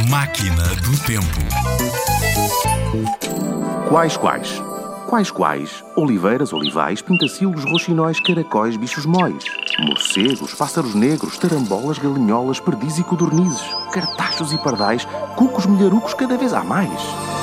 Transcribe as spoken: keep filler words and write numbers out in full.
Máquina do Tempo. Quais, quais? Quais, quais? Oliveiras, olivais, pintacilos, roxinóis, caracóis, bichos móis, morcegos, pássaros negros, tarambolas, galinholas, perdizes e codornizes, cartachos e pardais, cucos, milharucos, cada vez há mais.